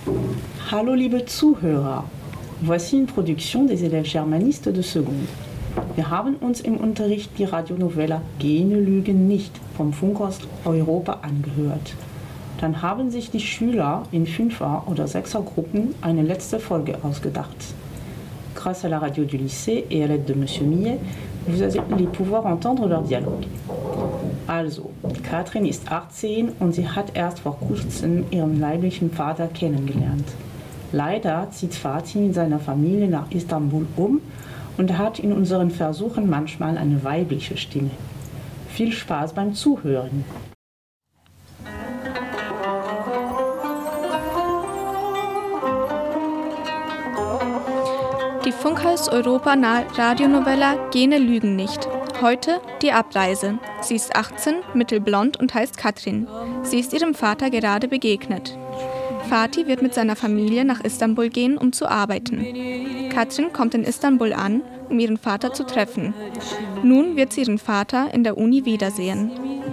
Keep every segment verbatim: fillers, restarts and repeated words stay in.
Hallo liebe Zuhörer, voici une production des élèves germanistes de Seconde. Wir haben uns im Unterricht die Radionovella Gene lügen nicht vom Funkhaus Europa angehört. Dann haben sich die Schüler in Fünfer- oder Sechsergruppen eine letzte Folge ausgedacht. Grâce à la radio du lycée et à l'aide de Monsieur Millet, vous allez pouvoir entendre leur Dialogue. Also, Katrin ist achtzehn und sie hat erst vor kurzem ihren leiblichen Vater kennengelernt. Leider zieht Fatih mit seiner Familie nach Istanbul um und hat in unseren Versuchen manchmal eine weibliche Stimme. Viel Spaß beim Zuhören! Die Funkhaus Europa Radionovella Gene lügen nicht. Heute die Abreise. Sie ist achtzehn, mittelblond und heißt Katrin. Sie ist ihrem Vater gerade begegnet. Fatih wird mit seiner Familie nach Istanbul gehen, um zu arbeiten. Katrin kommt in Istanbul an, um ihren Vater zu treffen. Nun wird sie ihren Vater in der Uni wiedersehen.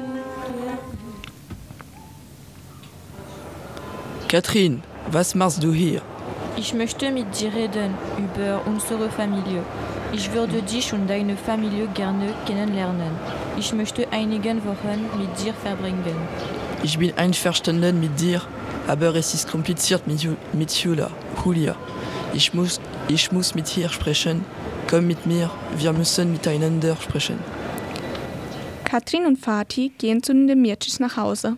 Katrin, was machst du hier? Ich möchte mit dir reden über unsere Familie. Ich würde dich und deine Familie gerne kennenlernen. Ich möchte einige Wochen mit dir verbringen. Ich bin einverstanden mit dir, aber es ist kompliziert mit, mit Julia. Julia. Ich muss, ich muss mit ihr sprechen. Komm mit mir, wir müssen miteinander sprechen. Katrin und Fatih gehen zu den Demircics nach Hause.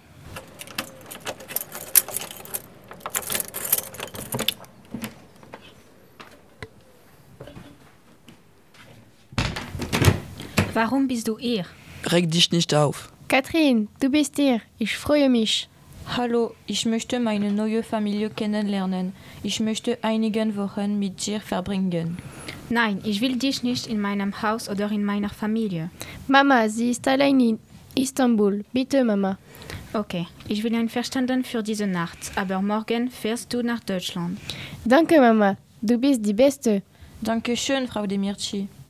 Warum bist du hier? Reg dich nicht auf. Katrin, du bist hier. Ich freue mich. Hallo, ich möchte meine neue Familie kennenlernen. Ich möchte einige Wochen mit dir verbringen. Nein, ich will dich nicht in meinem Haus oder in meiner Familie. Mama, sie ist allein in Istanbul. Bitte, Mama. Okay, ich bin einverstanden für diese Nacht, aber morgen fährst du nach Deutschland. Danke, Mama. Du bist die Beste. Danke schön, Frau Demirci.